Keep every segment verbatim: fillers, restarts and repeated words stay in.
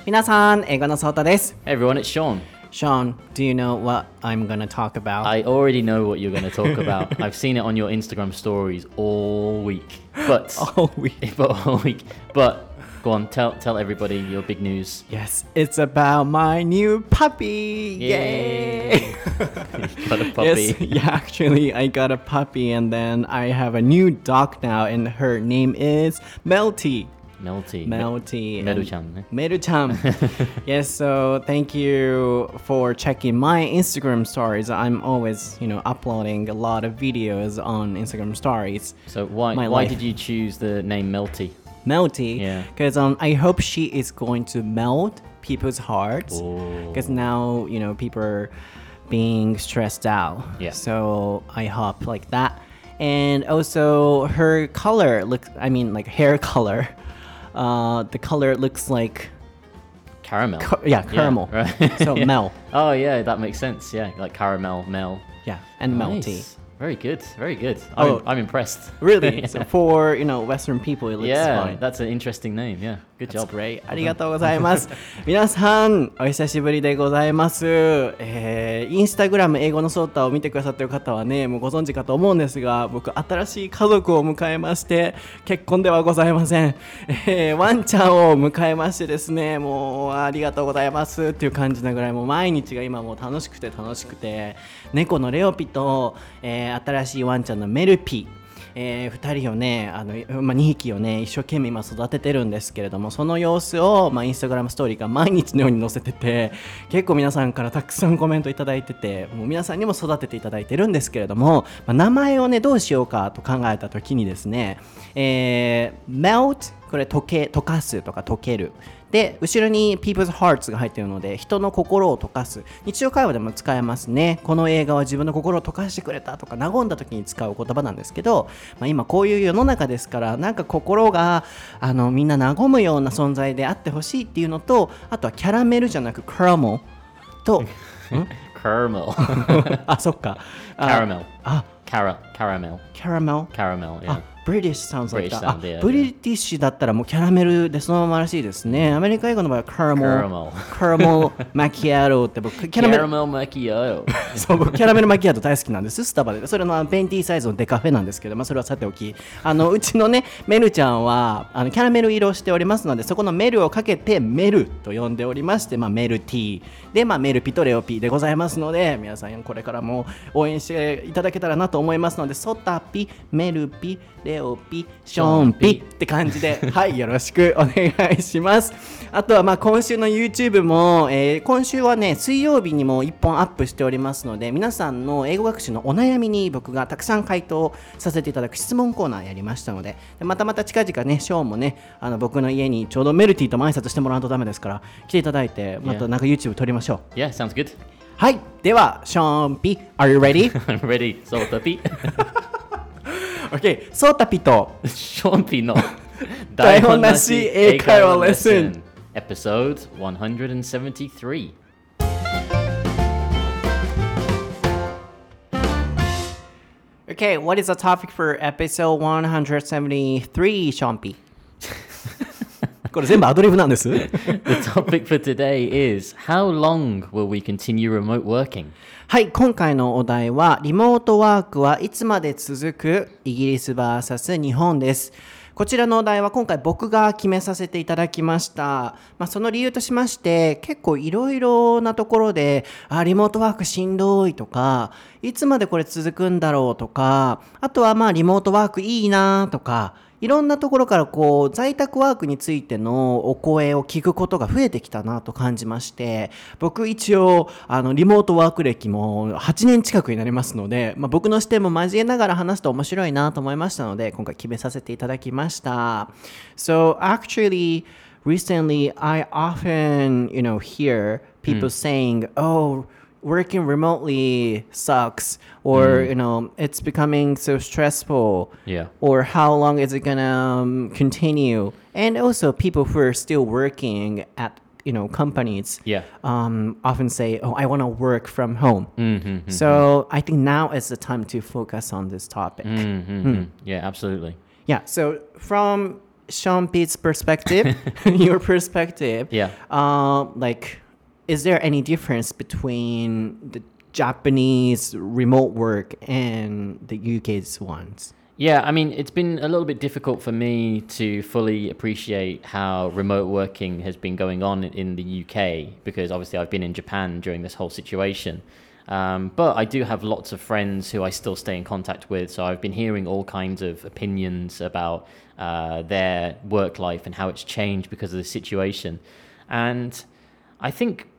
皆さん、英語のソータです。 Hey everyone, it's Sean. Sean, do you know what I'm gonna talk about? I already know what you're going to talk about. I've seen it on your Instagram stories all week. But all week. But all week. But go on, tell tell everybody your big news. Yes, it's about my new puppy. Yay! Yay! Got a puppy. Yes, yeah, actually, I got a puppy, and then I have a new dog now, and her name is Melty. Melty. Melty. Meru-chan. Meru-chan. Yes, so thank you for checking my Instagram stories. I'm always, you know, uploading a lot of videos on Instagram stories. So why My why life. did you choose the name Melty? Melty. Yeah. Because um, I hope she is going to melt people's hearts. Oh. Because now, you know, people are being stressed out. Yeah. So I hope like that. And also her color looks, I mean like hair color. Uh, the color looks like Caramel. Car- yeah, caramel. Yeah, right. So Mel. Oh yeah, that makes sense. Yeah, like caramel, Mel. Yeah, and Nice. Melty. Very good, very good. Oh. I'm, I'm impressed. Really? Yeah. So for, you know, Western people, it looks Yeah, fine. that's an interesting name. Yeah, good That's job. great. ありがとうございます。皆さん、お久しぶりでございます。えー、インスタグラム英語のソータを見てくださっている方はね、もうご存知かと思うんですが、僕、新しい家族を迎えまして、結婚ではございません。えー、ワンちゃんを迎えましてですね、もうありがとうございますっていう感じなぐらい、もう毎日が今もう楽しくて楽しくて、猫のレオピと、えー、新しいワンちゃんのメルピ、えー、ふたりをね、あの、まあ、にひきをね、一生懸命今育ててるんですけれども、その様子を、まあ、インスタグラムストーリーが毎日のように載せてて、結構皆さんからたくさんコメントいただいてて、もう皆さんにも育てていただいてるんですけれども、まあ、名前をね、どうしようかと考えた時にですね、えー、melt、これ溶け、溶かすとか溶ける。で、後ろに people's hearts が入っているので、人の心を溶かす。日常会話でも使えますね。この映画は自分の心を溶かしてくれたとか、和んだ時に使う言葉なんですけど、まあ、今こういう世の中ですから、なんか心があのみんな和むような存在であってほしいっていうのと、あとはキャラメルじゃなくカラメルと、 Caramel. あ、そっか。 Caramel. あ、 Cara caramel. キャラメル。 Caramel. Yeah. あ、British sounds like British that. sound, yeah, あ、ブリティッシュだったらもうキャラメルでそのままらしいですね。アメリカ英語の場合はカラメル、 Caramel. カラメルマキアートって僕キャラメル Caramel macchiato. そう僕キャラメルマキアート大好きなんです。スタバでそれのベンティーサイズのデカフェなんですけど、まあそれはさておき、あのうちのねメルちゃんはあのキャラメル色をしておりますので、そこのメルをかけてメルと呼んでおりまして、まあメルティーでまあメルピとレオピでございますので、皆さんこれからも応援していただけたらなと思いますので、ソタピ、メルピ、レオピ、ションピって感じで、はい、よろしくお願いします。あとはまあ今週の YouTube も、えー、今週はね水曜日にもいっぽんアップしておりますので、皆さんの英語学習のお悩みに僕がたくさん回答させていただく質問コーナーやりましたので、でまたまた近々ねショーンもねあの僕の家にちょうどメルティとも挨拶してもらうとダメですから来ていただいて、またなんか YouTube 撮りましょう。 Yeah, sounds good. はい、ではショーンピ Are you ready? I'm ready. So puppy. OK、 ソータピと Sean P. No. 台本なし英会話レッスン Episode one seventy-three. Okay, what is the topic for episode one seventy-three, ションピこれ全部アドリブなんです。 The topic for today is how long will we continue remote working? はい、今回のお題はリモートワークはいつまで続くイギリス ブイエス 日本です。こちらのお題は今回僕が決めさせていただきました。まあ、その理由としまして結構いろいろなところであリモートワークしんどいとかいつまでこれ続くんだろうとか、あとはまあリモートワークいいなとか、いろんなところからこう在宅ワークについてのお声を聞くことが増えてきたなと感じまして、僕一応あのリモートワーク歴もはちねん近くになりますので、まあ、僕の視点も交えながら話すと面白いなと思いましたので今回決めさせていただきました。 So actually recently I often you know hear people、mm. saying oh working remotely sucks or mm. you know it's becoming so stressful, yeah, or how long is it gonna um, continue, and also people who are still working at you know companies, yeah, um, often say oh I want to work from home. Mm-hmm, so mm-hmm. I think now is the time to focus on this topic. Mm-hmm, mm. Yeah, absolutely. Yeah, so from Sean Pete's perspective, your perspective, Yeah. uh, like, is there any difference between the Japanese remote work and the U K's ones? Yeah, I mean, it's been a little bit difficult for me to fully appreciate how remote working has been going on in the U K because obviously I've been in Japan during this whole situation. Um, but I do have lots of friends who I still stay in contact with, so I've been hearing all kinds of opinions about uh, their work life and how it's changed because of the situation. And I think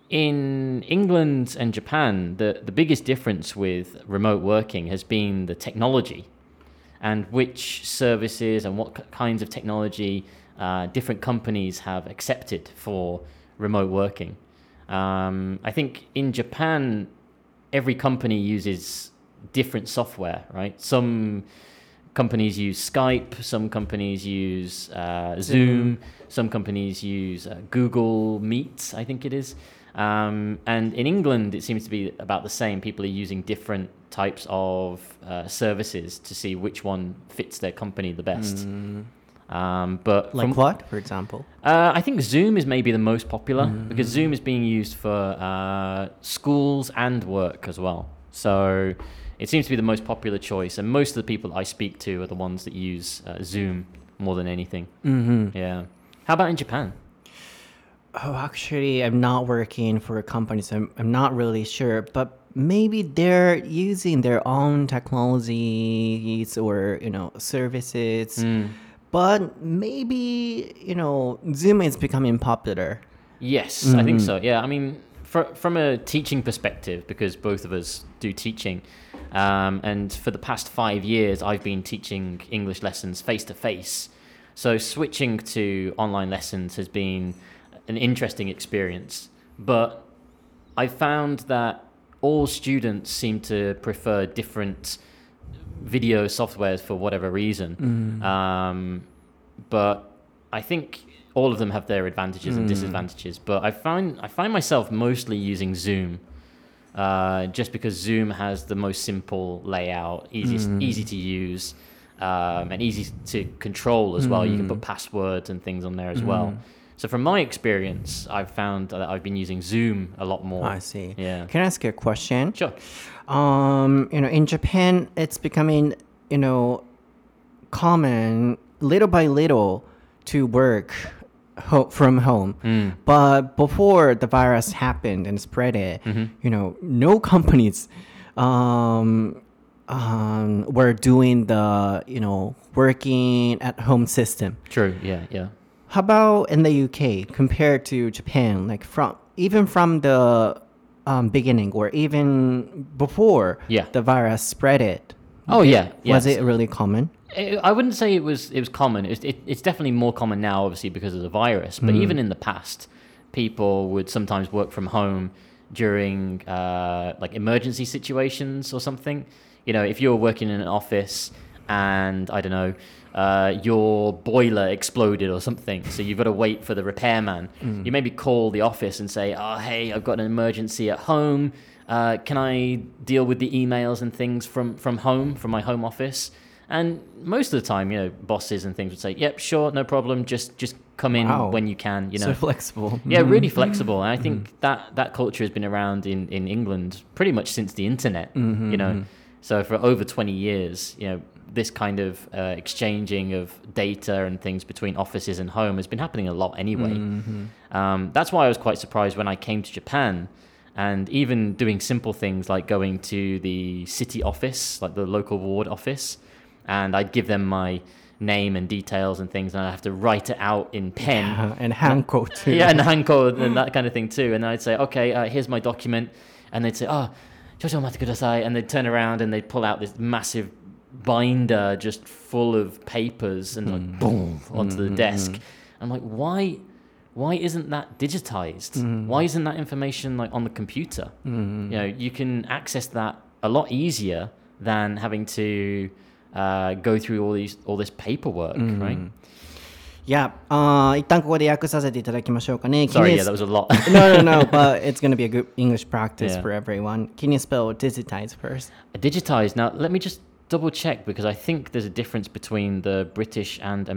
in England and Japan, the, the biggest difference with remote working has been the technology and which services and what kinds of technology uh, different companies have accepted for remote working. Um, I think in Japan, every company uses different software, right? Some companies use Skype, some companies use uh, Zoom, some companies use uh, Google Meet, I think it is. Um, and in England, it seems to be about the same. People are using different types of uh, services to see which one fits their company the best. Mm. Um, but like from, what, for example? Uh, I think Zoom is maybe the most popular mm. because Zoom is being used for uh, schools and work as well. So it seems to be the most popular choice. And most of the people I speak to are the ones that use uh, Zoom more than anything. Mm-hmm. Yeah. How about in Japan? Oh, actually, I'm not working for a company, so I'm, I'm not really sure. But maybe they're using their own technologies or, you know, services. Mm. But maybe, you know, Zoom is becoming popular. Yes, mm-hmm. I think so. Yeah, I mean, for, from a teaching perspective, because both of us do teaching, um, and for the past five years, I've been teaching English lessons face-to-face. So switching to online lessons has been an interesting experience, but I found that all students seem to prefer different video softwares for whatever reason. Mm. Um, but I think all of them have their advantages mm. and disadvantages. But I find I find myself mostly using Zoom, uh, just because Zoom has the most simple layout, easy mm. easy to use, um, and easy to control as mm. well. You can put passwords and things on there as mm. well. So from my experience, I've found that I've been using Zoom a lot more. I see. Yeah. Can I ask you a question? Sure. Um, you know, in Japan, it's becoming, you know, common little by little to work ho- from home. Mm. But before the virus happened and spread it, mm-hmm. you know, no companies um, um, were doing the, you know, working at home system. True. Yeah. Yeah. How about in the U K compared to Japan? Like from even from the um, beginning or even before yeah. the virus spread it. Oh it, yeah, yes. Was it really common? It, I wouldn't say it was. It was common. It, it, it's definitely more common now, obviously because of the virus. But mm. even in the past, people would sometimes work from home during uh, like emergency situations or something. You know, if you're working in an office and I don't know. Uh, your boiler exploded or something, so you've got to wait for the repairman. Mm. You maybe call the office and say, oh, hey, I've got an emergency at home. Uh, can I deal with the emails and things from, from home, from my home office? And most of the time, you know, bosses and things would say, yep, sure, no problem. Just just come in wow. when you can. You know, so flexible. Yeah, really flexible. And I think mm. that, that culture has been around in, in England pretty much since the internet, mm-hmm, you know. Mm-hmm. So for over twenty years, you know, this kind of uh, exchanging of data and things between offices and home has been happening a lot anyway. Mm-hmm. Um, that's why I was quite surprised when I came to Japan and even doing simple things like going to the city office, like the local ward office, and I'd give them my name and details and things, and I'd have to write it out in pen. Yeah, and hanko too. Yeah, and hanko and that kind of thing too. And I'd say, okay, uh, here's my document. And they'd say, oh, and they'd turn around and they'd pull out this massive binder just full of papers and like mm. boom onto mm-hmm. the desk. I'm like, why why isn't that digitized? Mm. Why isn't that information like on the computer? Mm. You know, you can access that a lot easier than having to uh, go through all these all this paperwork, mm. right? Yeah, uh, 一旦ここで訳させていただきましょうかね。 Sorry, yeah, that was a lot. no, no, no, but it's going to be a good English practice yeah. for everyone. Can you spell digitize first? Digitize. Now, let me just double check because I think there's a difference between the British and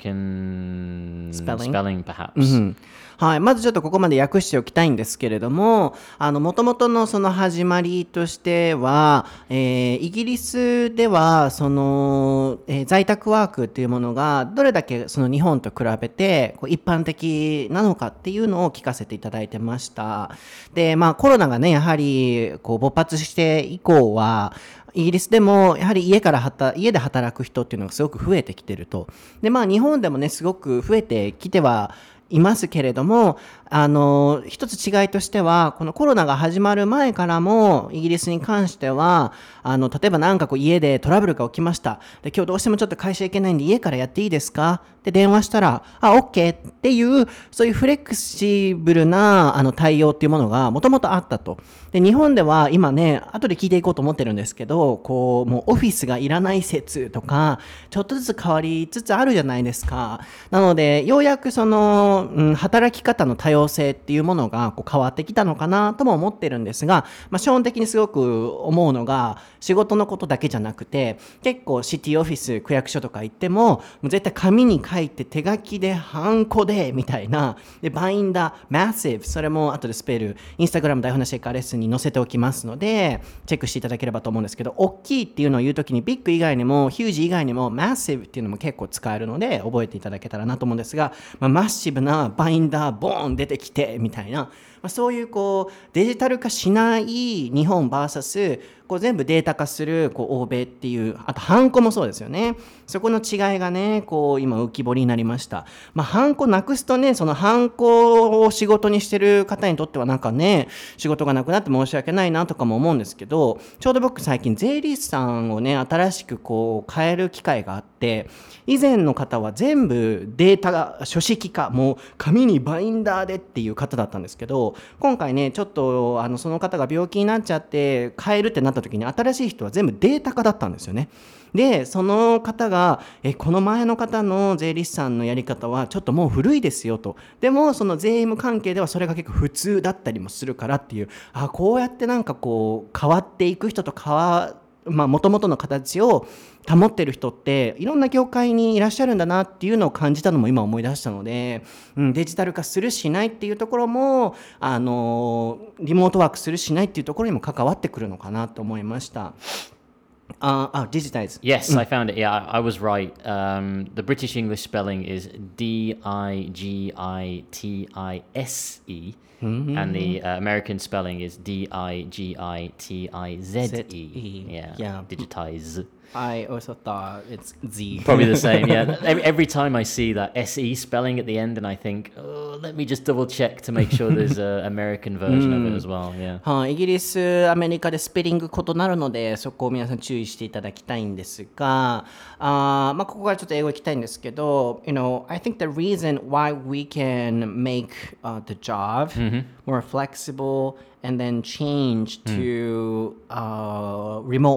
American Spelling? spelling perhaps. うんはい、まずちょっとここまで訳しておきたいんですけれども、あの元々のその始まりとしては、えーイギリスではその、えー在宅ワークっていうものがどれだけその日本と比べてこう一般的なのかっていうのを聞かせていただいてました。で、まあコロナがねやはりこう勃発して以降はイギリスでもやはり家から働家で働く人っていうのがすごく増えてきてると。で、まあ日本でもねすごく増えてきてはいますけれども、あの一つ違いとしてはこのコロナが始まる前からもイギリスに関してはあの例えばなんかこう家でトラブルが起きました。で、今日どうしてもちょっと会社行けないんで家からやっていいですかって電話したら、あ、OK っていうそういうフレキシブルなあの対応っていうものがもともとあったと。で、日本では今ね後で聞いていこうと思ってるんですけど、こうもうオフィスがいらない説とかちょっとずつ変わりつつあるじゃないですか。なのでようやくその、うん、働き方の多様性っていうものがこう変わってきたのかなとも思ってるんですが、まあ、基本的にすごく思うのが仕事のことだけじゃなくて、結構シティオフィス区役所とか行ってももう絶対紙に書いて手書きでハンコでみたいなでバインダーマッシブ、それも後でスペルインスタグラム台本なしエカレッスンに載せておきますのでチェックしていただければと思うんですけど、大きいっていうのを言うときにビッグ以外にもヒュージ以外にもマッシブっていうのも結構使えるので覚えていただけたらなと思うんですが、まあ、マッシブなバインダーボーン出てきてみたいな、まあ、そういうこうデジタル化しない日本 ブイエス こう全部データ化するこう欧米っていう、あとハンコもそうですよね。そこの違いがねこう今浮き彫りになりました。まあハンコなくすとね、そのハンコを仕事にしてる方にとってはなんかね仕事がなくなって申し訳ないなとかも思うんですけど、ちょうど僕最近税理士さんをね新しくこう変える機会があって、以前の方は全部データが書式化、もう紙にバインダーでっていう方だったんですけど、今回ねちょっとあのその方が病気になっちゃって変えるってなった時に新しい人は全部データ化だったんですよね。でその方がえこの前の方の税理士さんのやり方はちょっともう古いですよと、でもその税務関係ではそれが結構普通だったりもするからっていう、あこうやってなんかこう変わっていく人と変わまあ元々の形を保ってる人っていろんな業界にいらっしゃるんだなっていうのを感じたのも今思い出したので、うん、デジタル化するしないっていうところもあのリモートワークするしないっていうところにも関わってくるのかなと思いました。Uh, oh, digitize. Yes, I found it. Yeah, I, I was right. Um, the British English spelling is D I G I T I S E, mm-hmm. and the uh, American spelling is D I G I T I Z E. Yeah, yeah. Digitize. I also thought it's Z. Probably the same, yeah. Every, every time I see that S E spelling at the end, and I think, oh, let me just double check to make sure there's an American version of it as well, yeah. はい、イギリス、アメリカでスペリング異なるので、そこを皆さん注意していただきたいんですが、あまあここからちょっと英語行きたいんですけど、you know, I think the reason why we can make、uh, the job、mm-hmm. more flexible and then change to、uh, remote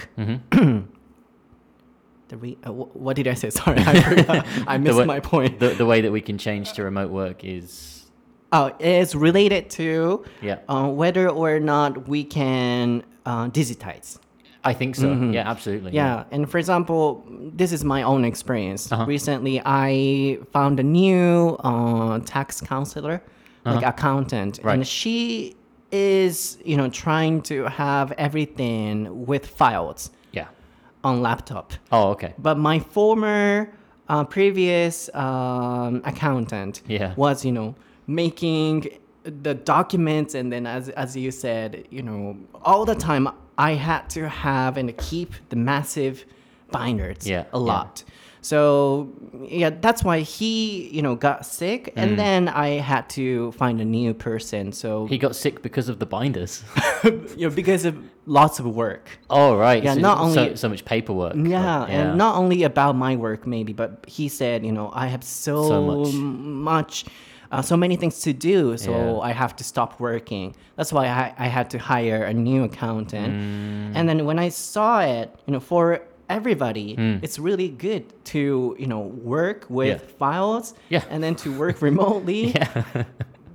work、mm-hmm.The re- uh, what did I say? Sorry, I forgot. I missed way, my point. The, the way that we can change to remote work is... Oh, it's related to yeah. uh, whether or not we can uh, digitize. I think so. Mm-hmm. Yeah, absolutely. Yeah. yeah, and for example, this is my own experience. Uh-huh. Recently, I found a new uh, tax counselor, uh-huh. like accountant, right. and she is, you know, trying to have everything with files.on laptop. Oh, okay. But my former uh, previous um, accountant yeah. was, you know, making the documents, and then as as you said, you know, all the time I had to have and keep the massive binders yeah. a lot. Yeah. So yeah, that's why he, you know, got sick, and mm. then I had to find a new person. So he got sick because of the binders, you know, because of lots of work. Oh right, yeah, so, not only so, so much paperwork. Yeah, but, yeah, and not only about my work maybe, but he said, you know, I have so, so much. much uh, so many things to do, so yeah. I have to stop working. That's why I, I had to hire a new accountant. Mm. And then when I saw it, you know, for everybody, mm. it's really good to, you know, work with yeah. files yeah. and then to work remotely. yeah.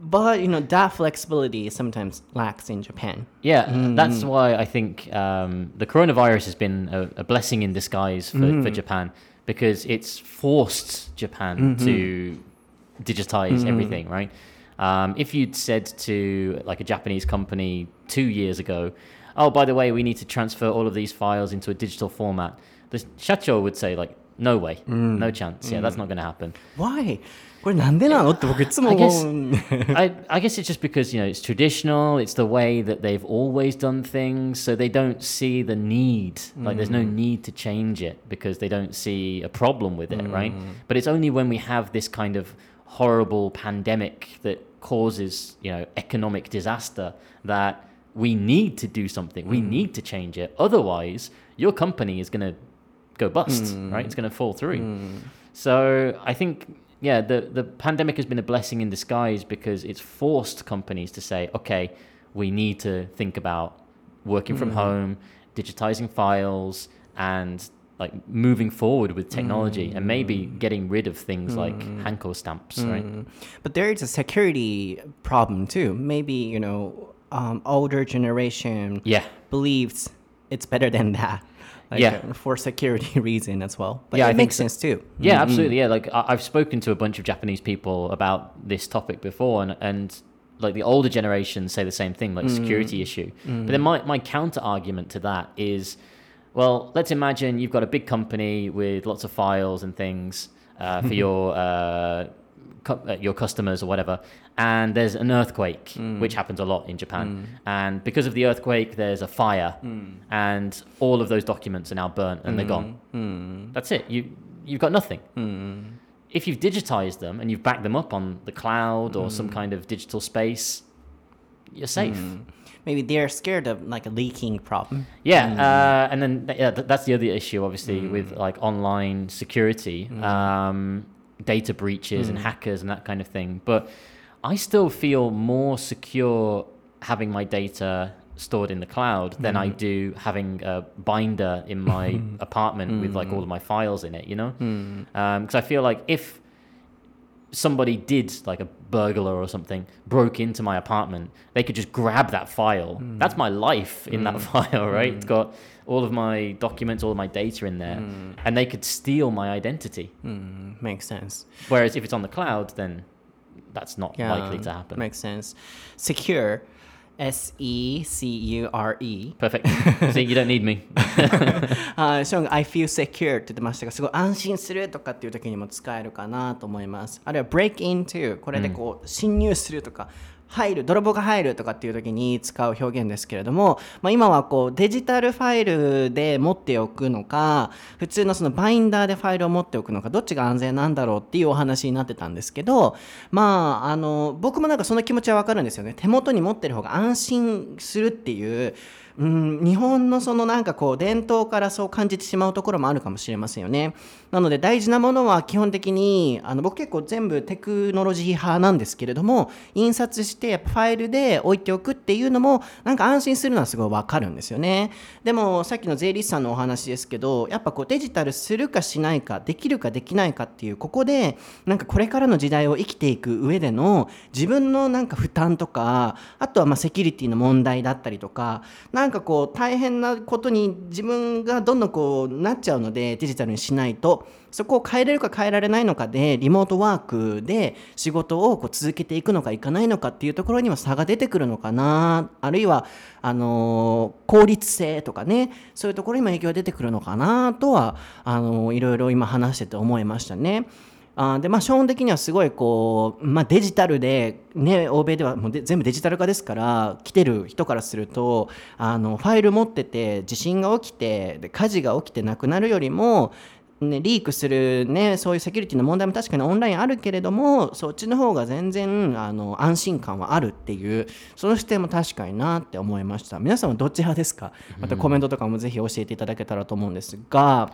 But you know that flexibility sometimes lacks in Japan. Yeah, mm. that's why I think um, the coronavirus has been a, a blessing in disguise for, mm. for Japan, because it's forced Japan mm-hmm. to digitize mm-hmm. everything, right? Um, if you'd said to like a Japanese company two years ago, oh, by the way, we need to transfer all of these files into a digital format, the shacho would say like, no way, mm. no chance. Yeah, mm. that's not going to happen. Why? これなんでなのって僕いつも I guess, I, I guess it's just because, you know, it's traditional, it's the way that they've always done things, so they don't see the need, like mm. there's no need to change it because they don't see a problem with it, mm. right? But it's only when we have this kind of horrible pandemic that causes, you know, economic disaster that we need to do something, we mm. need to change it, otherwise your company is going to go bust, mm. right? It's going to fall through. Mm. So I think... Yeah, the, the pandemic has been a blessing in disguise because it's forced companies to say, okay, we need to think about working from mm. home, digitizing files, and like moving forward with technology mm. and maybe getting rid of things mm. like Hanko stamps, mm. right? But there is a security problem too. Maybe, you know, um, older generation yeah. believes it's better than that. Like, yeah, uh, for security reason as well. But yeah, it I makes so. sense too. Yeah, mm-hmm. absolutely. Yeah, like I- I've spoken to a bunch of Japanese people about this topic before, and and like the older generation say the same thing, like mm-hmm. security issue. Mm-hmm. But then my my counter argument to that is, well, let's imagine you've got a big company with lots of files and things uh, for your uh, cu- your customers or whatever. And there's an earthquake, mm. which happens a lot in Japan. Mm. And because of the earthquake, there's a fire. Mm. And all of those documents are now burnt and mm. they're gone. Mm. That's it. You, you've got nothing. Mm. If you've digitized them and you've backed them up on the cloud or mm. some kind of digital space, you're safe. Mm. Maybe they're scared of like a leaking problem. Yeah. Mm. Uh, and then yeah, that's the other issue, obviously, mm. with like online security, mm. um, data breaches mm. and hackers and that kind of thing. But I still feel more secure having my data stored in the cloud than mm. I do having a binder in my apartment mm. with like all of my files in it, you know? Because mm. um, I feel like if somebody did, like a burglar or something, broke into my apartment, they could just grab that file. Mm. That's my life in mm. that file, right? Mm. It's got all of my documents, all of my data in there, mm. and they could steal my identity. Mm. Makes sense. Whereas if it's on the cloud, then that's not yeah, likely to happen. Makes sense. Secure, S E C U R E. Perfect. See, you don't need me. あ、ショーンが I feel secure って言ってましたが、すごい安心するとかっていう時にも使えるかなと思います。あるいは break into これでこう侵入するとか、入る、泥棒が入るとかっていう時に使う表現ですけれども、まあ、今はこうデジタルファイルで持っておくのか、普通のそのバインダーでファイルを持っておくのか、どっちが安全なんだろうっていうお話になってたんですけど、まああの僕もなんかその気持ちはわかるんですよね。手元に持ってる方が安心するっていう。うん、日本のそのなんかこう伝統からそう感じてしまうところもあるかもしれませんよね。なので大事なものは基本的にあの僕結構全部テクノロジー派なんですけれども、印刷してやっぱファイルで置いておくっていうのもなんか安心するのはすごいわかるんですよね。でもさっきの税理士さんのお話ですけど、やっぱこうデジタルするかしないか、できるかできないかっていうここでなんかこれからの時代を生きていく上での自分のなんか負担とか、あとはまあセキュリティの問題だったりとか、なんかこう大変なことに自分がどんどんこうなっちゃうので、デジタルにしないとそこを変えれるか変えられないのかでリモートワークで仕事をこう続けていくのかいかないのかっていうところには差が出てくるのかな、あるいはあのー、効率性とかね、そういうところにも影響が出てくるのかなとはあのー、いろいろ今話してて思いましたね。あでまあ、基本的にはすごいこう、まあ、デジタルで、ね、欧米ではもうで全部デジタル化ですから来てる人からするとあのファイル持ってて地震が起きてで火事が起きてなくなるよりも、ね、リークする、ね、そういうセキュリティの問題も確かにオンラインあるけれどもそっちの方が全然あの安心感はあるっていうその視点も確かになって思いました。皆さんはどっち派ですか？またコメントとかもぜひ教えていただけたらと思うんですが、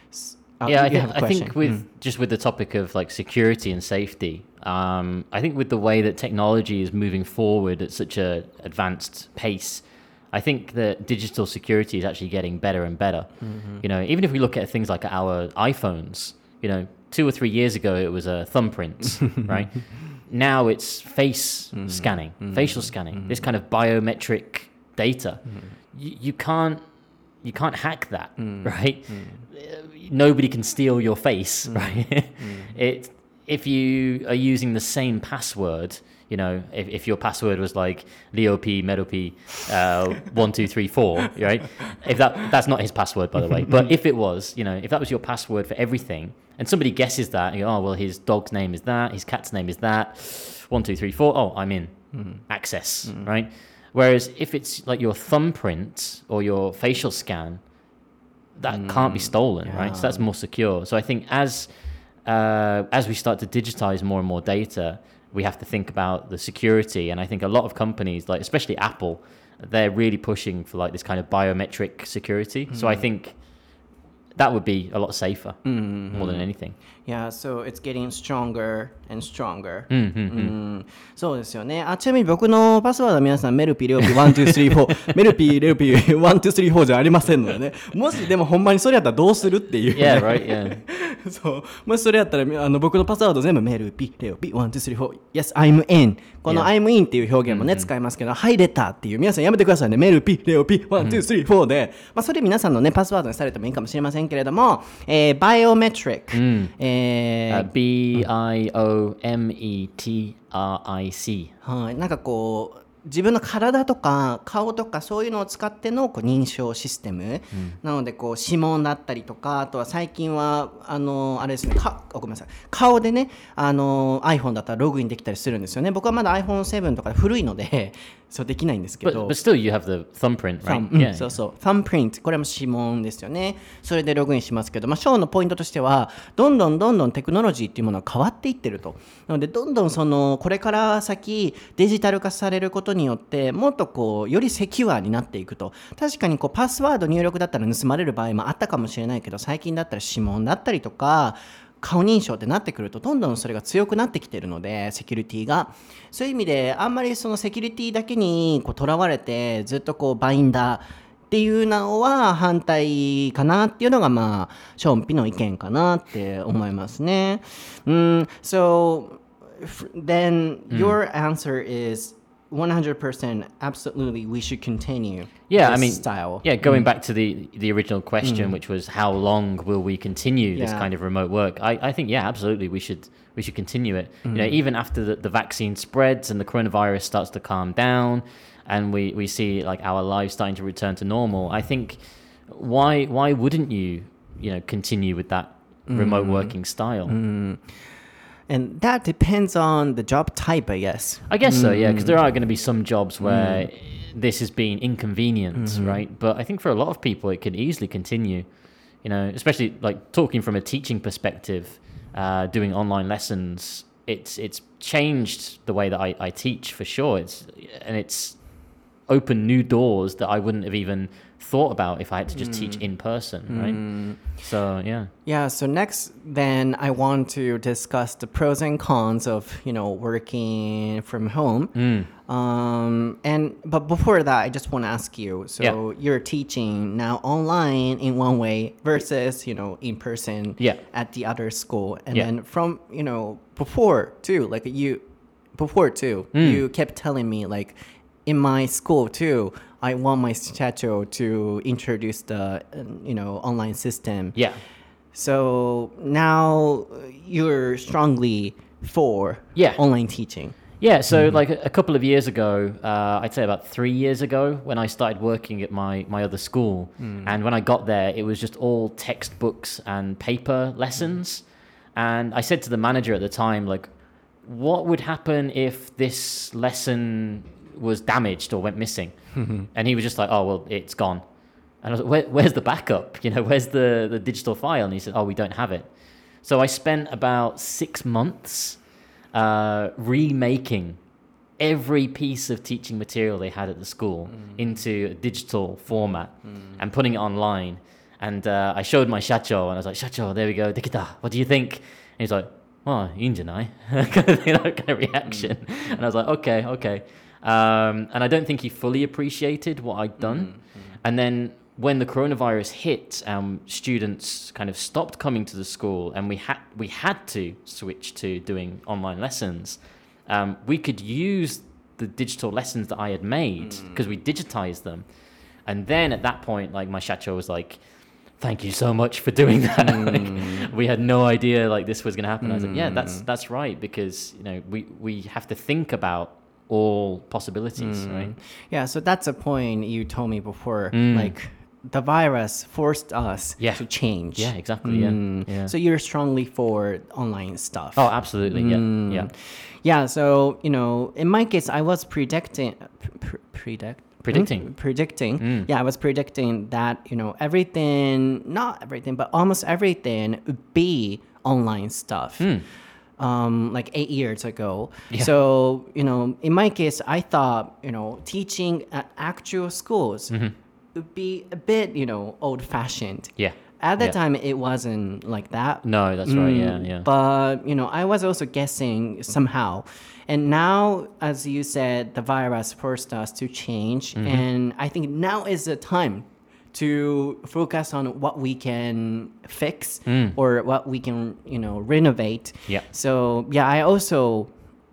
Uh, yeah, I think, I think with mm. just with the topic of like security and safety, um, I think with the way that technology is moving forward at such a advanced pace, I think that digital security is actually getting better and better. Mm-hmm. You know, even if we look at things like our iPhones, you know, two or three years ago it was a thumbprint, right? now it's face mm. scanning, mm. facial scanning, mm. this kind of biometric data. Mm. You, you can't you can't hack that, mm. right? Mm. Nobody can steal your face, mm. right? mm. It if you are using the same password, you know, if, if your password was like Leo P, Meadow P, uh, one, two, three, four, right? If that that's not his password, by the way. But if it was, you know, if that was your password for everything, and somebody guesses that, and you go, oh, well, his dog's name is that, his cat's name is that, one, two, three, four, oh, I'm in, mm. access, mm. right? Whereas if it's like your thumbprint or your facial scan, that mm. can't be stolen, yeah. right? So that's more secure. So I think as uh, as we start to digitize more and more data, we have to think about the security. And I think a lot of companies, like especially Apple, they're really pushing for like this kind of biometric security. Mm. So I think that would be a lot safer mm-hmm. more than anything. Yeah, so it's getting stronger and stronger. うんうんうんうんそうですよね。あ、ちなみに僕のパスワードは皆さんメルピーレオピーワンツースリーフォーメルピーレオピーワンツースリーフォーじゃありませんのでね。もしでもほんまにそれやったらどうするっていう、ね。 Yeah, right, yeah. そうもしそれやったらあの僕のパスワード全部メルピーレオピーワンツースリーフォー Yes, I'm in この Yeah. I'm in っていう表現もね、mm-hmm. 使いますけど入れたっていう皆さんやめてくださいね。メルピーレオピーワンツースリーフォーで、まあ、それ皆さんのねパスワードにされてもいいかもしれませんけれども、えー、バイオメトリック、 mm. えー uh, B I O M E T R I C はい、なんかこう自分の体とか顔とかそういうのを使ってのこう認証システム、うん、なのでこう指紋だったりとかあとは最近はあのあれですねかごめんなさい顔でねあの iPhone だったらログインできたりするんですよね。僕はまだ アイフォンセブン とか古いのでそうできないんですけど But, but still you have the thumbprint, right? Thumb, うん yeah. そうそう thumbprint これも指紋ですよね。それでログインしますけど、まあ、ショーのポイントとしてはどんどんどんどんテクノロジーっていうものが変わっていってると。なのでどんどんそのこれから先デジタル化されることによってもっとこうよりセキュアになっていくと。確かにこうパスワード入力だったら盗まれる場合もあったかもしれないけど最近だったら指紋だったりとか顔認証ってなってくるとどんどんそれが強くなってきてるのでセキュリティがそういう意味であんまりそのセキュリティだけにこうとらわれてずっとこうバインダーっていうのは反対かなっていうのがまあショーンピの意見かなって思いますね。Mm, so then your answer is one hundred percent absolutely we should continue yeah this I mean style. Yeah, going mm. back to the the original question mm. which was how long will we continue this yeah. kind of remote work. I, I think yeah absolutely we should we should continue it. Mm. You know, even after the, the vaccine spreads and the coronavirus starts to calm down and we, we see like our lives starting to return to normal, I think why why wouldn't you you know continue with that remote mm. working style? Mm. And that depends on the job type, I guess. I guess mm. so, yeah, because there are going to be some jobs where mm. this has been inconvenient, mm-hmm. right? But I think for a lot of people, it can easily continue, you know, especially like talking from a teaching perspective, uh, doing online lessons. It's it's changed the way that I, I teach for sure. It's and it's opened new doors that I wouldn't have even thought about if I had to just mm. teach in person, right? Mm. So yeah. Yeah, so next then I want to discuss the pros and cons of, you know, working from home. Mm. Um and but before that I just want to ask you, so yeah. you're teaching now online in one way versus, you know, in person yeah. at the other school. And yeah. then from, you know, before too, like you before too, mm. you kept telling me like in my school too, I want my shacho to introduce the, you know, online system. Yeah. So now you're strongly for yeah. online teaching. Yeah. So mm-hmm. like a, a couple of years ago, uh, I'd say about three years ago, when I started working at my my other school, mm. and when I got there, it was just all textbooks and paper lessons. Mm. And I said to the manager at the time, like, what would happen if this lesson was damaged or went missing? And he was just like, oh well, it's gone. And I was like, Where, where's the backup, you know, where's the the digital file? And he said, oh, we don't have it. So I spent about six months uh remaking every piece of teaching material they had at the school mm. into a digital format mm. and putting it online. And uh, I showed my shacho and I was like, shacho, there we go, dekita, what do you think? And he's like, oh,いいんじゃない? kind of, you know, kind of reaction. Mm. And I was like, okay, okay. Um, and I don't think he fully appreciated what I'd done. Mm-hmm. And then when the coronavirus hit, um, students kind of stopped coming to the school, and we had we had to switch to doing online lessons. um, we could use the digital lessons that I had made because we digitized them. And then at that point, like my shacho was like, thank you so much for doing that. like, we had no idea like this was going to happen. I was like, yeah, that's that's right, because you know we we have to think about all possibilities, right? Yeah, so that's a point you told me before. Like the virus forced us Yeah. to change. Yeah, exactly. Yeah. yeah. So you're strongly for online stuff. Oh, absolutely. Yeah. Yeah. Yeah, so, you know, in my case, I was predicting, pre- predict, Predicting. Hmm? predicting. Yeah, I was predicting that, you know, everything, not everything, but almost everything would be online stuff. Um, like eight years ago. Yeah. So, you know, in my case, I thought, you know, teaching at actual schools would be a bit, you know, old-fashioned. Yeah. At the Yeah. time, it wasn't like that. No, that's right. Yeah. Yeah. But, you know, I was also guessing somehow. And now, as you said, the virus forced us to change. And I think now is the time to focus on what we can fix or what we can, you know, renovate. Yeah. So, yeah, I also,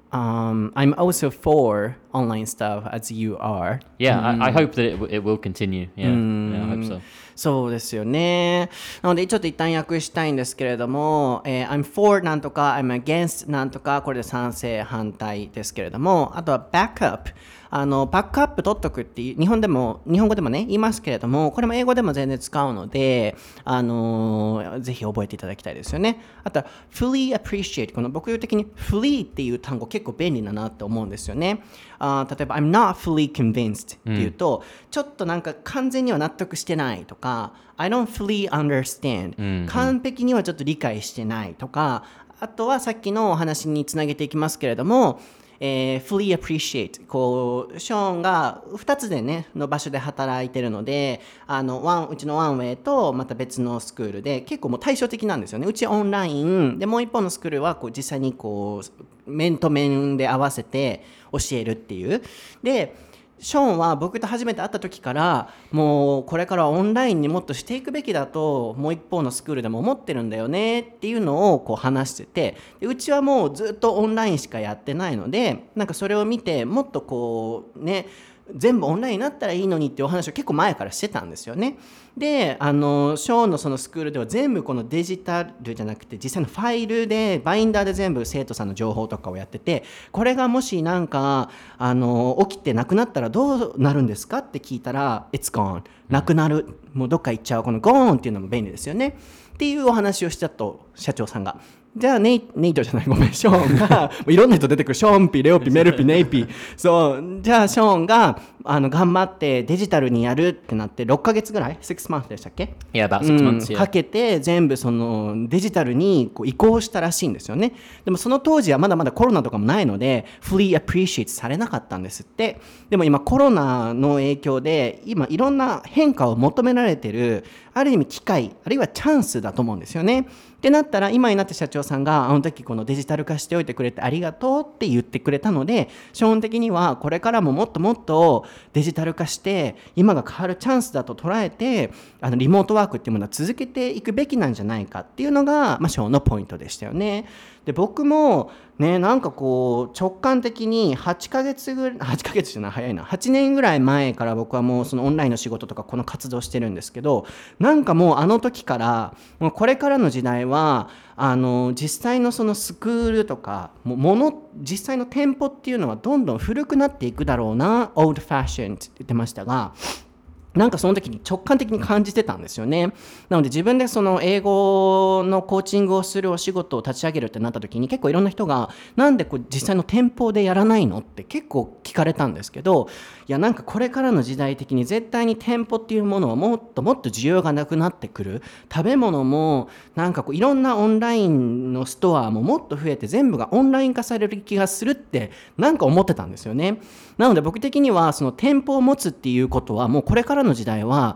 um, I'm also for online stuff as you are. Yeah. I, I hope that it, w- it will continue. Yeah. Yeah. I hope so. そうですよね。なのでちょっと一旦訳したいんですけれども、えー、I'm for なんとか I'm against なんとか、これで賛成反対ですけれども、あとは backup、あのバックアップ取っとくっていう日本でも日本語でもね言いますけれども、これも英語でも全然使うので、あのー、ぜひ覚えていただきたいですよね。あとは fully appreciate、 この僕的に fully っていう単語結構便利だなって思うんですよね。あ例えば I'm not fully convinced っていうと、うん、ちょっとなんか完全には納得してないとか、I don't fully understand、うんうん、完璧にはちょっと理解してないとか、あとはさっきのお話につなげていきますけれども、えー、fully appreciate、 こうショーンがふたつでねの場所で働いてるので、あのワンうちのワンウェイとまた別のスクールで結構もう対照的なんですよね。うちオンラインで、もう一方のスクールはこう実際にこう面と面で合わせて教えるっていう。でショーンは僕と初めて会った時からもうこれからはオンラインにもっとしていくべきだともう一方のスクールでも思ってるんだよねっていうのをこう話してて、でうちはもうずっとオンラインしかやってないので、なんかそれを見てもっとこうね全部オンラインになったらいいのにっていうお話を結構前からしてたんですよね。であのショーンのそのスクールでは全部このデジタルじゃなくて実際のファイルでバインダーで全部生徒さんの情報とかをやってて、これがもしなんかあの起きてなくなったらどうなるんですかって聞いたら It's gone、 なくなる、もうどっか行っちゃう、この gone っていうのも便利ですよねっていうお話をしたと社長さんが。じゃあネイ、ネイトじゃないごめんショーンがもういろんな人出てくる、ショーンピ、レオピ、メルピ、ネイピ、そうじゃあショーンがあの頑張ってデジタルにやるってなってろっかげつぐらい six months でしたっけ、 Yeah, about six months、 うん、 yeah. かけて全部そのデジタルにこう移行したらしいんですよね。でもその当時はまだまだコロナとかもないので fully appreciate されなかったんですって。でも今コロナの影響で今いろんな変化を求められてる、ある意味機会あるいはチャンスだと思うんですよね。ってなったら今になって社長さんがあの時このデジタル化しておいてくれてありがとうって言ってくれたので、基本的にはこれからももっともっとデジタル化して今が変わるチャンスだと捉えて、あのリモートワークっていうものは続けていくべきなんじゃないかっていうのが、まあ、ショーのポイントでしたよね。で僕もね、なんかこう直感的にはちかげつぐらい、はちかげつじゃない早いな、はちねんぐらい前から僕はもうそのオンラインの仕事とかこの活動してるんですけど、なんかもうあの時からもうこれからの時代はあの実際のそのスクールとかももの実際の店舗っていうのはどんどん古くなっていくだろうな、オールドファッションって言ってましたが、なんかその時に直感的に感じてたんですよね。なので自分でその英語のコーチングをするお仕事を立ち上げるってなった時に結構いろんな人がなんでこう実際の店舗でやらないのって結構聞かれたんですけど、いやなんかこれからの時代的に絶対に店舗っていうものはもっともっと需要がなくなってくる。食べ物もなんかこういろんなオンラインのストアももっと増えて全部がオンライン化される気がするってなんか思ってたんですよね。なので僕的にはその店舗を持つっていうことはもうこれからの時代は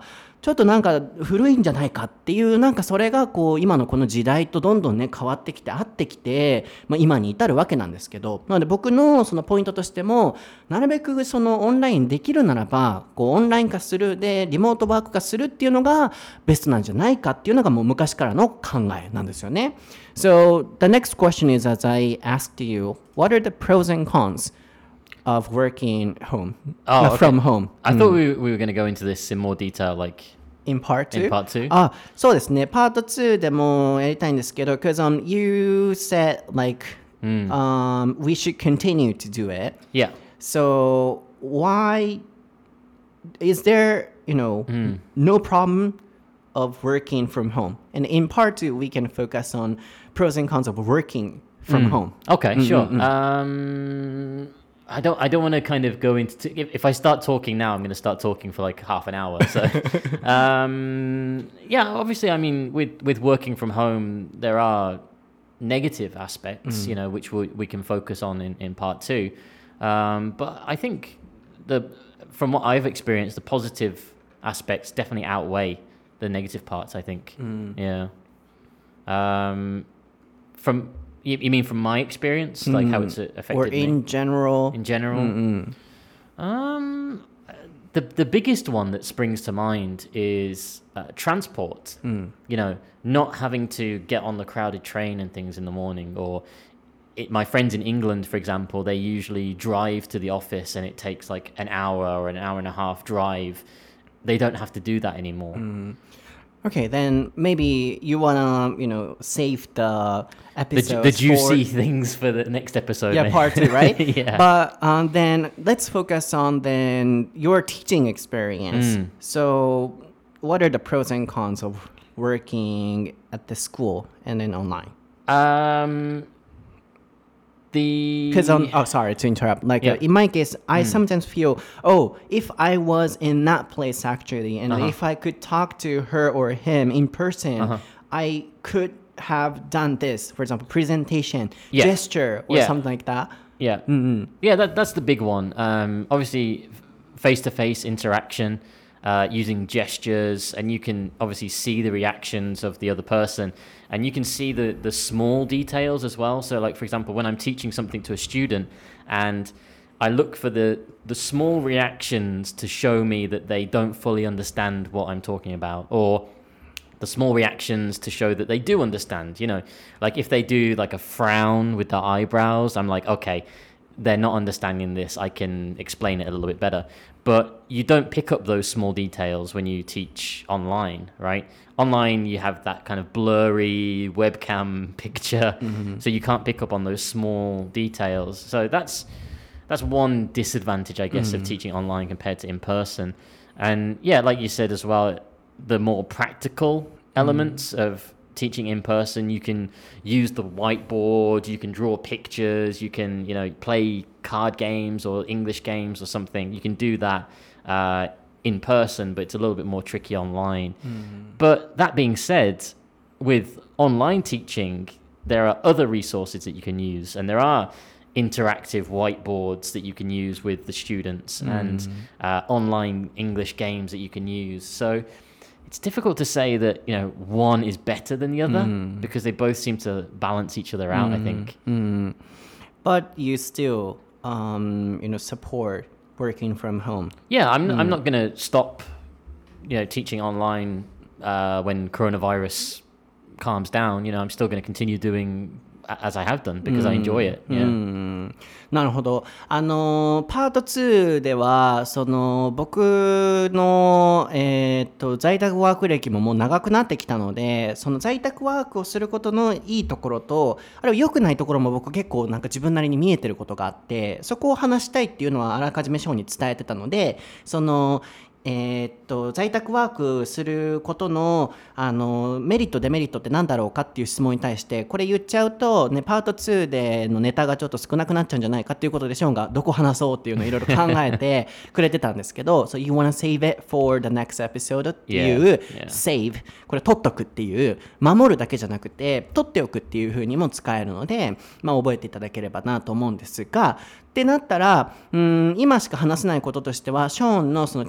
ちょっとなんか古いんじゃないかっていう、なんかそれがこう今のこの時代とどんどんね変わってきて合ってきて、まあ、今に至るわけなんですけど、なので僕のそのポイントとしても、なるべくそのオンラインできるならばこうオンライン化するでリモートワーク化するっていうのがベストなんじゃないかっていうのがもう昔からの考えなんですよね。So the next question is, as I asked you, what are the pros and cons of working home, Oh, uh, okay. from home? I thought we, we were going to go into this in more detail, like In part two? in part two. あ、そうですね。パートツーでもやりたいんですけど、because um, you said like、um, we should continue to do it. Yeah. So why is there, you know, no problem of working from home? And in part two, we can focus on pros and cons of working from home. Okay, sure. Um, I don't. I don't want to kind of go into. If, if I start talking now, I'm going to start talking for like half an hour. So, um, yeah. Obviously, I mean, with with working from home, there are negative aspects, you know, which we we can focus on in in part two. Um, but I think the from what I've experienced, the positive aspects definitely outweigh the negative parts. I think. Yeah. Um, from You, you mean from my experience, like how it's affected Or in me? general? In general? Um, the the biggest one that springs to mind is uh, transport. You know, not having to get on the crowded train and things in the morning, or it, my friends in England, for example, they usually drive to the office and it takes like an hour or an hour and a half drive. They don't have to do that anymore. Okay, then maybe you wanna, you know, save the The, episodes the juicy for, things for the next episode. yeah, maybe. part two, right? Yeah. But um, then let's focus on then your teaching experience. So, what are the pros and cons of working at the school and then online? Um, the Because um, oh, sorry to interrupt. Like Yeah. uh, in my case, I sometimes feel, oh, if I was in that place actually, and Uh-huh. if I could talk to her or him in person, Uh-huh. I could have done this. For example, presentation, Yeah. gesture, or Yeah. something like that. Yeah, yeah, that that's the big one. Um, obviously, face to face interaction, uh, using gestures, and you can obviously see the reactions of the other person, and you can see the the small details as well. So, like for example, when I'm teaching something to a student, and I look for the the small reactions to show me that they don't fully understand what I'm talking about, or the small reactions to show that they do understand. You know, like if they do like a frown with their eyebrows, I'm like, okay, they're not understanding this. I can explain it a little bit better. But you don't pick up those small details when you teach online, right? Online, you have that kind of blurry webcam picture, so you can't pick up on those small details. So that's that's one disadvantage, I guess, of teaching online compared to in person. And yeah, like you said as well, the more practical elements of teaching in person, you can use the whiteboard, you can draw pictures, you can, you know, play card games or English games or something. You can do that uh, in person, but it's a little bit more tricky online. But that being said, with online teaching, there are other resources that you can use, and there are interactive whiteboards that you can use with the students and uh, online English games that you can use. So it's difficult to say that, you know, one is better than the other because they both seem to balance each other out, I think. But you still, um, you know, support working from home. Yeah, I'm I'm not going to stop, you know, teaching online uh, when coronavirus calms down. You know, I'm still going to continue doing a- as I have done because I enjoy it. Yeah. なるほど。あのパートツーではその僕の、えーっと在宅ワーク歴ももう長くなってきたので、その在宅ワークをすることのいいところと、あるいは良くないところも僕結構なんか自分なりに見えてることがあって、そこを話したいっていうのはあらかじめショーに伝えてたので、そのえーっと在宅ワークすることの、あのメリットデメリットって何だろうかっていう質問に対してこれ言っちゃうと、ね、パートツーでのネタがちょっと少なくなっちゃうんじゃないかっていうことでショーンがどこ話そうっていうのをいろいろ考えてくれてたんですけどSo you wanna save it for the next episode っていう、 Yeah, yeah. save これ取っとくっていう守るだけじゃなくて取っておくっていう風にも使えるので、まあ、覚えていただければなと思うんですがってなったら、うん今しか話せないこととしてはショーンのそのティーチング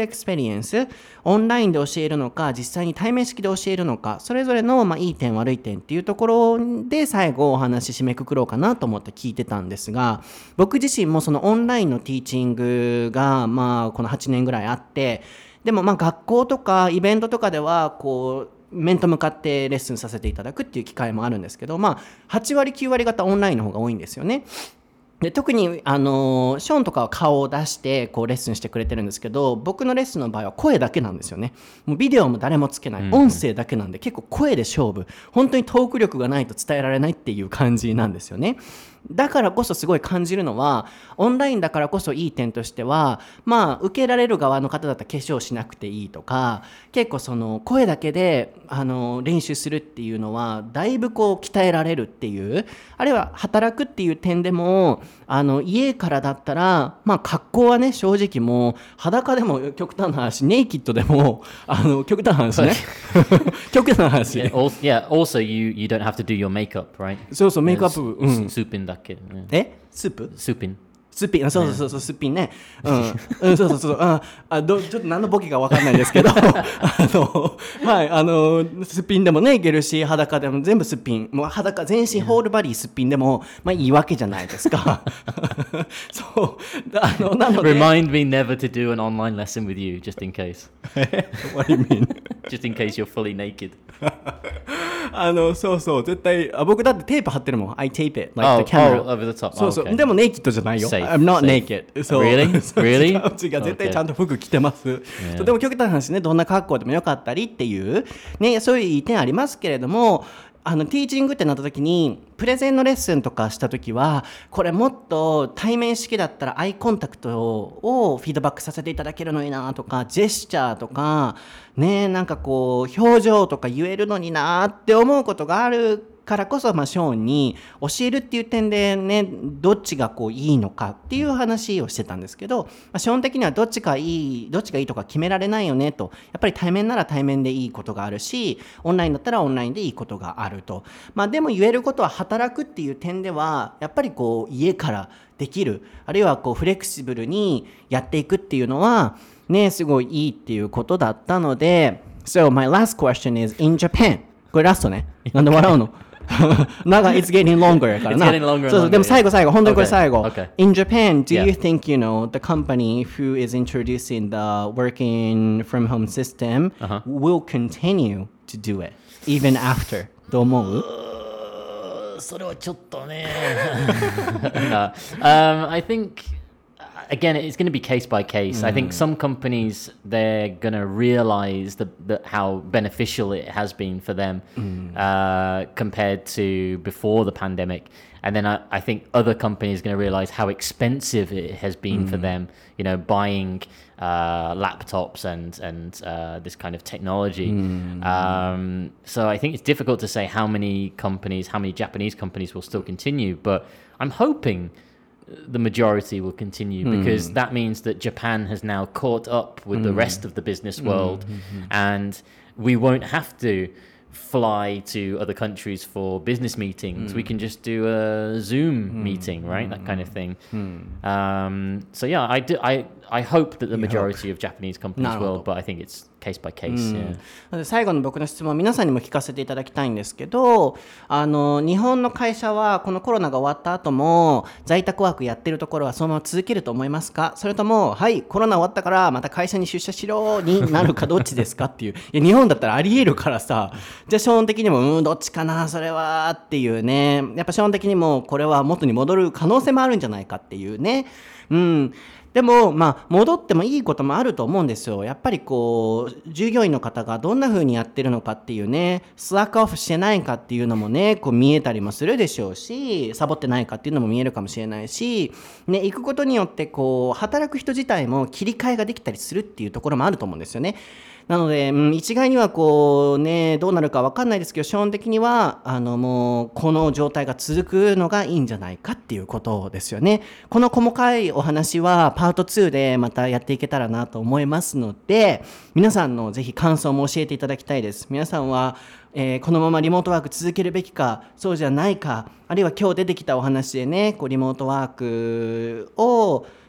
エクスペリエンス、オンラインで教えるのか実際に対面式で教えるのか、それぞれのまあいい点悪い点っていうところで最後お話締めくくろうかなと思って聞いてたんですが、僕自身もそのオンラインのティーチングがまあこのはちねんぐらいあって、でもまあ学校とかイベントとかではこう面と向かってレッスンさせていただくっていう機会もあるんですけど、まあはちわりきゅうわり方オンラインの方が多いんですよね。で特にあのショーンとかは顔を出してこうレッスンしてくれてるんですけど、僕のレッスンの場合は声だけなんですよね。もうビデオも誰もつけない、音声だけなんで結構声で勝負、本当にトーク力がないと伝えられないっていう感じなんですよね。だからこそすごい感じるのは、オンラインだからこそいい点としては、まあ受けられる側の方だったら化粧しなくていいとか、結構その声だけであの練習するっていうのはだいぶこう鍛えられるっていう、あるいは働くっていう点でもあの家からだったら、まあ格好はね正直もう裸でも極端な話、ネイキッドでもあの極端な話ね極端な話、 Yeah, also, yeah, also you, you don't have to do your makeup, right? そうそう、メイクアップ、うん、 スーピンだけ、ね、 えスープスーピンすっぴん、そうそうそう、すっぴんね。うん、うん、そうそうそう、あ、あどちょっと何のボケか分かんないですけど、あの、はい、あの、すっぴんでもね、いけるし、裸でも全部すっぴん、もう裸、全身ホールバディすっぴんでも、まあいいわけじゃないですか。そう、あの、なので。 Remind me never to do an online lesson with you, just in case. What do you mean? Just in case you're fully naked. あのそうそう、絶対あ僕だってテープ貼ってるもん。I tape it like Oh, the camera. oh, over the top. そうそう、 Oh, okay. でもネイキッドじゃないよ。 Safe, I'm not safe. naked. そう Really? そう Really? 違う違う、絶対ちゃんと服着てます。 Yeah. とても極端な話ね、どんな格好でもよかったりっていうね、そういういい点ありますけれども、あのティーチングってなった時にプレゼンのレッスンとかした時は、これもっと対面式だったらアイコンタクトをフィードバックさせていただけるのになとか、ジェスチャーとかね、なんかこう表情とか言えるのになって思うことがあるからこそ、まあ、ショーンに教えるっていう点でね、どっちがこういいのかっていう話をしてたんですけど、まあ、ショーン的にはどっちがいいどっちがいいとか決められないよねと。やっぱり対面なら対面でいいことがあるし、オンラインだったらオンラインでいいことがあると。まあ、でも言えることは、働くっていう点ではやっぱりこう家からできる、あるいはこうフレキシブルにやっていくっていうのはね、すごいいいっていうことだったので。 So my last question is in Japan。 これラストね。なんで笑うのなんか it's getting longer やからな。 It's getting longer and そうそう、でも最後最後、本当にこれ Okay, 最後。 okay. In Japan, do Yeah. you think, you know, the company who is introducing the working from home system Uh-huh. will continue to do it even after? どう思う？ それはちょっとね。No. um, I think again it's going to be case by case. I think some companies they're going to realize the, the how beneficial it has been for them uh, compared to before the pandemic. And then I, I think other companies are going to realize how expensive it has been for them, you know, buying uh, laptops and, and uh, this kind of technology. Um, so I think it's difficult to say how many companies, how many Japanese companies will still continue, but I'm hoping the majority will continue because that means that Japan has now caught up with the rest of the business world, and we won't have to fly to other countries for business meetings. Mm. We can just do a Zoom mm. meeting, right? Mm. That kind of thing. Mm. Um, so yeah, I do. I I hope that the majority of Japanese companies will, but I think it's case by case. Yeah. 最後の僕の質問、皆さんにも聞かせていただきたいんですけど、あの日本の会社はこのコロナが終わった後も在宅ワークやってるところはそのまま続けると思いますか？それとも、はい、コロナ終わったからまた会社に出社しろになるか、どっちですかっていう。いや、日本だったらありえるからさ、じゃあショーン的にもうんどっちかなそれはっていうね。やっぱショーン的にもこれは元に戻る可能性もあるんじゃないかっていうね。うん。でも、まあ、戻ってもいいこともあると思うんですよ。やっぱりこう、従業員の方がどんな風にやってるのかっていうね、スラックオフしてないかっていうのもね、こう見えたりもするでしょうし、サボってないかっていうのも見えるかもしれないし、ね、行くことによってこう、働く人自体も切り替えができたりするっていうところもあると思うんですよね。なので、うん、一概にはこうね、どうなるか分かんないですけど、基本的にはあのもうこの状態が続くのがいいんじゃないかっていうことですよね。この細かいお話はパートツーでまたやっていけたらなと思いますので、皆さんのぜひ感想も教えていただきたいです。皆さんは、えー、このままリモートワーク続けるべきか、そうじゃないか、あるいは今日出てきたお話でね、こうリモートワークを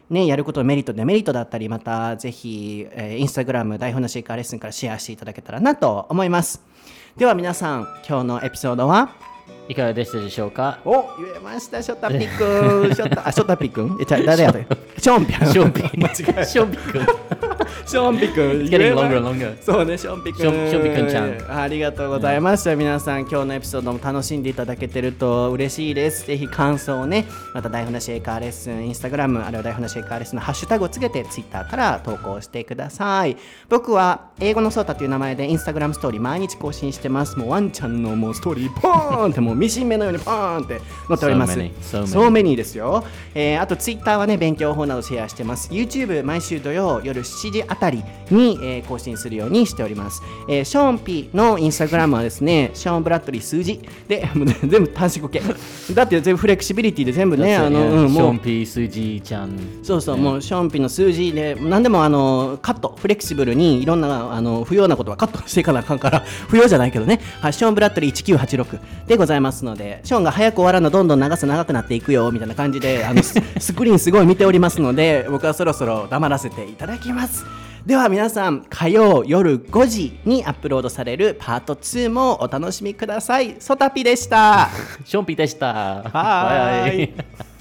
ね、やることのメリットデメリットだったり、またぜひ、えー、インスタグラム台本なし英会話レッスンからシェアしていただけたらなと思います。では皆さん、今日のエピソードはいかがでしたでしょうか。 お、言えました、ショタピくん。ショタ、あ、ショタピくん。え、じゃ、誰やったっけ。ションピくん。 ションピ間違え。 ションピくん。 ションピくん。 It's getting longer and longer. そうね、ションピくん。 ションションピくんちゃん。 ありがとうございました。皆さん、今日のエピソードも楽しんでいただけてると嬉しいです。ぜひ感想をね、また台本なし英会話レッスン、インスタグラム、あるいは台本なし英会話レッスンのハッシュタグをつけて、ツイッターから投稿してください。僕は、英語のソータという名前でインスタグラムストーリー毎日更新してます。もうワンちゃんのもうストーリー、ポーンってもうミシン目のようにポーンって載っております。 So many, so many. So many ですよ、えー、あとツイッターはね勉強法などシェアしてます。 YouTube 毎週土曜夜しちじあたりに、えー、更新するようにしております。えー、ショーン P のインスタグラムはですねショーンブラッドリー数字で全部短縮系だって全部フレキシビリティで全部ねあの、うん、 ション P 数字ちゃんそうそう、もうショーン P の数字で何でもあのカットフレキシブルにいろんなあの不要なことはカットしていかなあかんから不要じゃないけどね、はい、ショーンブラッドリーいちきゅうはちろくでございますので、ショーンが早く終わらなどんどん長さ長くなっていくよみたいな感じであのスクリーンすごい見ておりますので僕はそろそろ黙らせていただきます。では皆さん、火曜夜ごじにアップロードされるパートツーもお楽しみください。ソタピでした。 ションピでした。 はーい。